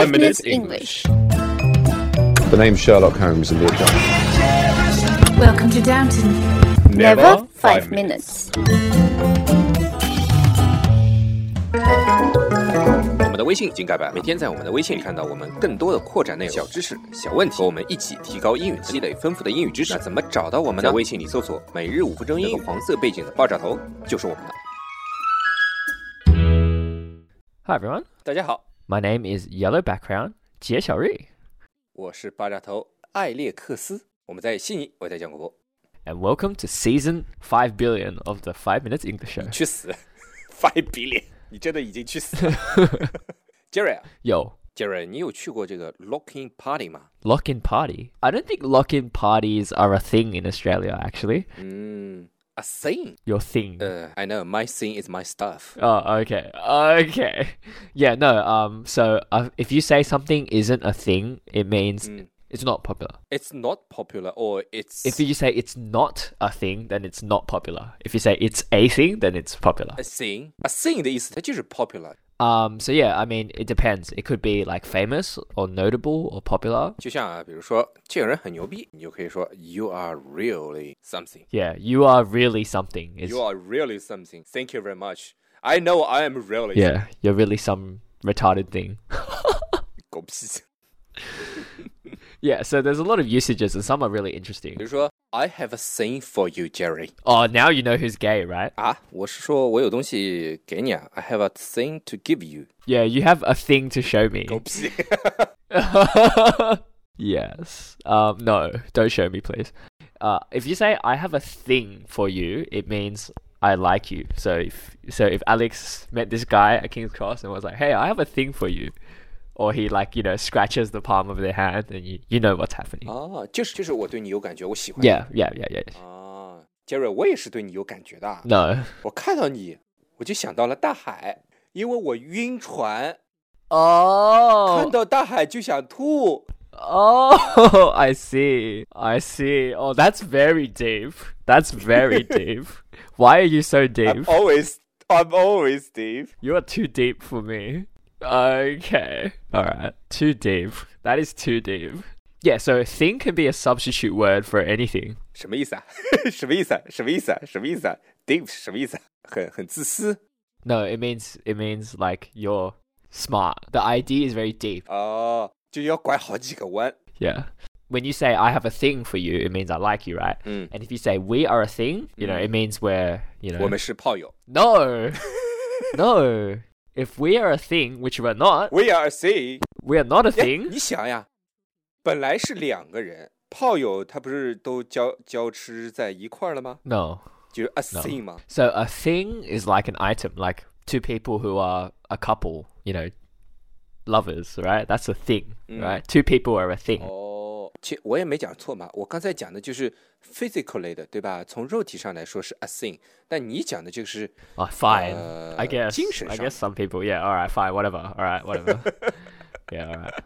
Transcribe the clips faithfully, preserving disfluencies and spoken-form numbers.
Five Minutes English. The name's Sherlock Holmes in the account. Welcome to Downton. Never five minutes. 我们的微信已经改版，每天在我们的微信里看到我们更多的扩展内容、小知识、小问题，和我们一起提高英语，积累丰富的英语知识。那怎么找到我们呢？在微信里搜索"每日五分钟英语"，黄色背景的爆炸头就是我们的。 Hi everyone. 大家好， My name is Yellow Background 杰小瑞， 我是爆炸头艾列克斯，我们在悉尼为大家讲广播。 And welcome to season five billion of the Five Minutes English Show. 去死 ，five billion， 你真的已经去死了。Jerry 啊 Yo, ，Jerry， 你有去过这个 lock-in party 吗？ lock-in party. I don't think lock-in parties are a thing in Australia, actually. 嗯 ，a thing。 Your thing. 呃、uh, ，I know my thing is my stuff. Oh, okay. Okay. Yeah, no, um, so uh, if you say something isn't a thing, it means Mm. it's not popular. It's not popular, or it's If you say it's not a thing, then it's not popular. If you say it's a thing, then it's popular. a thing. A thing 的意思，它就是 popular。 Um, so yeah, I mean, it depends. It could be like famous or notable or popular. 就像啊，比如说这个人很牛逼，你就可以说 You are really something. Yeah, you are really something. It's, You are really something. Thank you very much. I know I am really. yeah, you're really some retarded thing. 狗屁。 Yeah, so there's a lot of usages and some are really interesting. 比如说 I have a thing for you, Jerry. Oh, now you know who's gay, right? 啊，我是说我有东西给你啊。I have a thing to give you. Yeah, you have a thing to show me. 狗屁。 Yes. Um, no, don't show me, please. Uh, if you say I have a thing for you, it means I like you. So if so, if Alex met this guy at King's Cross and was like, "Hey, I have a thing for you," or he like you know scratches the palm of their hand, and you you know what's happening. 啊，就是就是我对你有感觉，我喜欢你。 Yeah, yeah, yeah, yeah. 啊，Jerry，我也是对你有感觉的啊。 No. 我看到你，我就想到了大海，因为我晕船， Oh. 看到大海就想吐。 Oh, I see. I see. Oh, that's very deep. That's very deep. Why are you so deep? I'm always, I'm always deep. You are too deep for me. Okay. Alright. Too deep. That is too deep. Yeah, so thing can be a substitute word for anything. 什么意思啊？什么意思啊？什么意思啊？什么意思啊 ？Deep 是什么意思啊？很很自私。 No, it means it means like you're smart. The idea is very deep. 哦，就要拐好几个弯。 Yeah. When you say I have a thing for you, it means I like you, right? 嗯， And if you say we are a thing, you know, it means we're, you know. 我们是炮友。 No. No. If we are a thing, which we're not, We are a thing. we are not a 哎， thing. 你想呀，本来是两个人，炮友他不是都交交织在一块儿了吗？ No. 就是 a No. thing 嘛。 So a thing is like an item, like two people who are a couple, you know, lovers, right? That's a thing, right? Two people are a thing. 哦，其实我也没讲错嘛，我刚才讲的就是 physically 的，对吧？从肉体上来说是 a thing， 但你讲的这个是 Oh, fine. Uh, I guess. 精神 I 上。 guess some people, yeah. All right, fine, whatever. All right, whatever. Yeah, all right.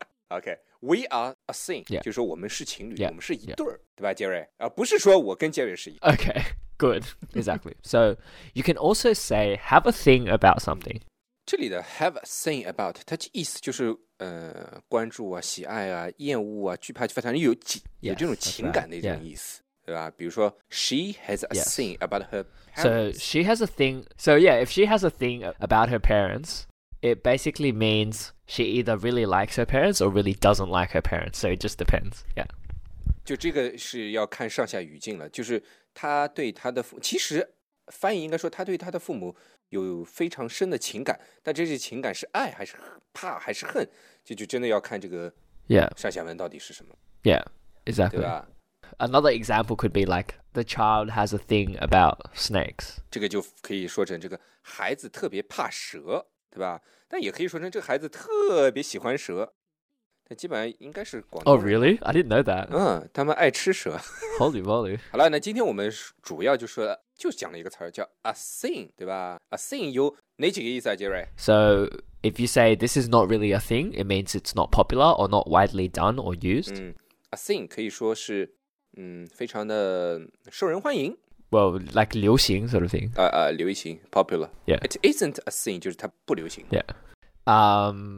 OK。We are a thing， Yeah. 就是说我们是情侣 Yeah. 我们是一对儿，对吧，杰瑞？而不是说我跟杰瑞是一。 Okay, good. Exactly. So you can also say have a thing about something. 这里的 have a thing about， 它意思就是呃关注啊、喜爱啊、厌恶啊、惧怕，反正有几有 Yes, 这种 that's 情感的一种 right. 意思，对吧？比如说 she has a Yes. thing about her So parents。 she has a thing. So yeah, if she has a thing about her parents, it basically means she either really likes her parents or really doesn't like her parents. So it just depends. Yeah. 就这个是要看上下语境了，就是他对他的父，其实翻译应该说他对他的父母有非常深的情感，但这些情感是爱还是怕还是恨，就就真的要看这个 Yeah. 上下文到底是什么， Yeah. 对 Exactly. 吧？ Another example could be like the child has a thing about snakes. 这个就可以说成这个孩子特别怕蛇，对吧？但也可以说成这个孩子特别喜欢蛇，但基本上应该是广东 Oh, 人。 really? I didn't know that. 嗯，他们爱吃蛇。 Holy moly. 好了，那今天我们主要就说就讲了一个词儿叫 a thing， 对吧 ？a thing 有哪几个意思啊，杰瑞？ So if you say this is not really a thing, it means it's not popular or not widely done or used. 嗯 ，a thing 可以说是嗯非常的受人欢迎， Well, like 流行 sort of thing. 呃呃流行 popular。 Yeah. It isn't a thing 就是它不流行。 Yeah. Um,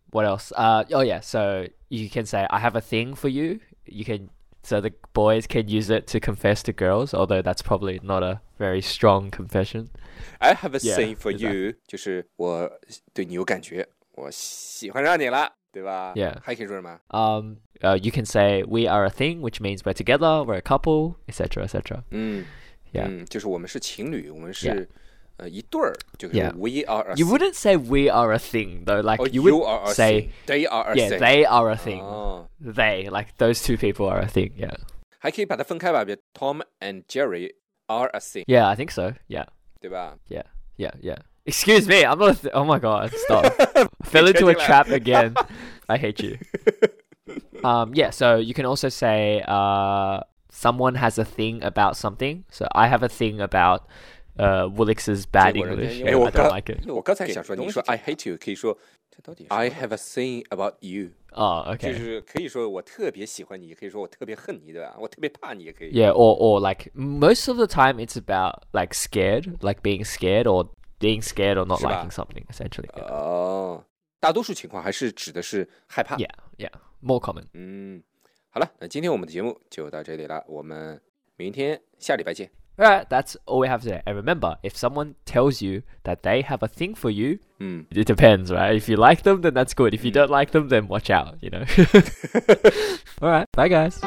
what else? Uh, oh yeah, so you can say I have a thing for you. You can so the boys can use it to confess to girls, although that's probably not a very strong confession. I have a Yeah, thing for exactly. you， 就是我对你有感觉，我喜欢上你了，对吧 Yeah. 还可以说什么？ Um, uh, you can say we are a thing, which means we're together, we're a couple, et cetera, et cetera. 嗯 Yeah. 嗯，就是我们是情侣，我们是 Yeah. 呃一对儿，就是 Yeah. we are a You thing. wouldn't say we are a thing though. Like or you you would are a say, thing. They are a yeah, thing. they are a thing. 哦 They, like those two people are a thing. Yeah. 还可以把它分开吧，比如 Tom and Jerry are a thing， Yeah, I think so. Yeah. 对吧？ Yeah. Yeah. Yeah. Excuse me. I'm not. A th- oh my god. Stop. Fell into a trap again. I hate you. Um. Yeah. So you can also say, uh, someone has a thing about something. So I have a thing about, uh, Woolix's bad 结果人家 English. 因为 Yeah, 我 I 刚 don't like it. 我刚才想说，你说 I hate you， 可以说 I have a thing about you， Oh, 就 okay. 是可以说我特别喜欢你，可以说我特别恨你，对吧？我特别怕你也可以。 Yeah. Or or like most of the time it's about like scared, like being scared or being scared or not 是吧？ liking something. Essentially. Yeah. 哦，大多数情况还是指的是害怕。 Yeah. Yeah. More common. 嗯，好了，那今天我们的节目就到这里了，我们明天下礼拜见。 Alright, that's all we have today. And remember, if someone tells you that they have a thing for you, 嗯， it depends, right? If you like them, then that's good. If you don't like them, then watch out, you know. Alright, bye guys.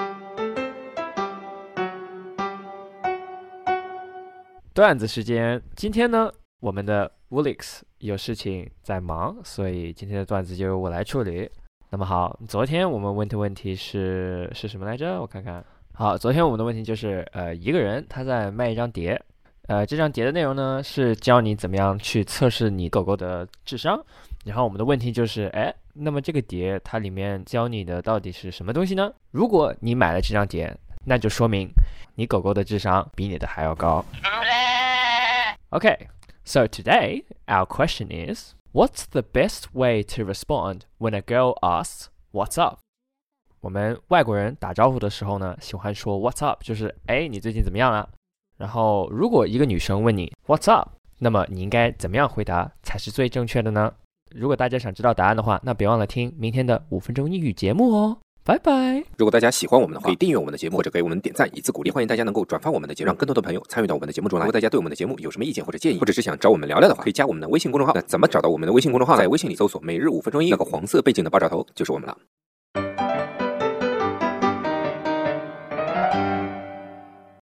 段子时间，今天呢，我们的 Woolix 有事情在忙，所以今天的段子就由我来处理。那么好，昨天我们问的问题是是什么来着？我看看。好，昨天我们的问题就是，呃，一个人他在卖一张碟，呃，这张碟的内容呢是教你怎么样去测试你狗狗的智商。然后我们的问题就是，哎，那么这个碟它里面教你的到底是什么东西呢？如果你买了这张碟，那就说明你狗狗的智商比你的还要高。Okay, so today our question is, what's the best way to respond when a girl asks, "What's up?" 我们外国人打招呼的时候呢，喜欢说 "What's up"， 就是哎，你最近怎么样啊？然后如果一个女生问你 "What's up"， 那么你应该怎么样回答才是最正确的呢？如果大家想知道答案的话，那别忘了听明天的五分钟英语节目哦。拜拜。 如果大家喜欢我们的话，可以订阅我们的节目，或者给我们点赞以资鼓励。欢迎大家能够转发我们的节目，让更多的朋友参与到我们的节目中来。如果大家对我们的节目有什么意见或者建议，或者是想找我们聊聊的话，可以加我们的微信公众号。那怎么找到我们的微信公众号？在微信里搜索每日五分钟英语，那个黄色背景的爆炸头就是我们了。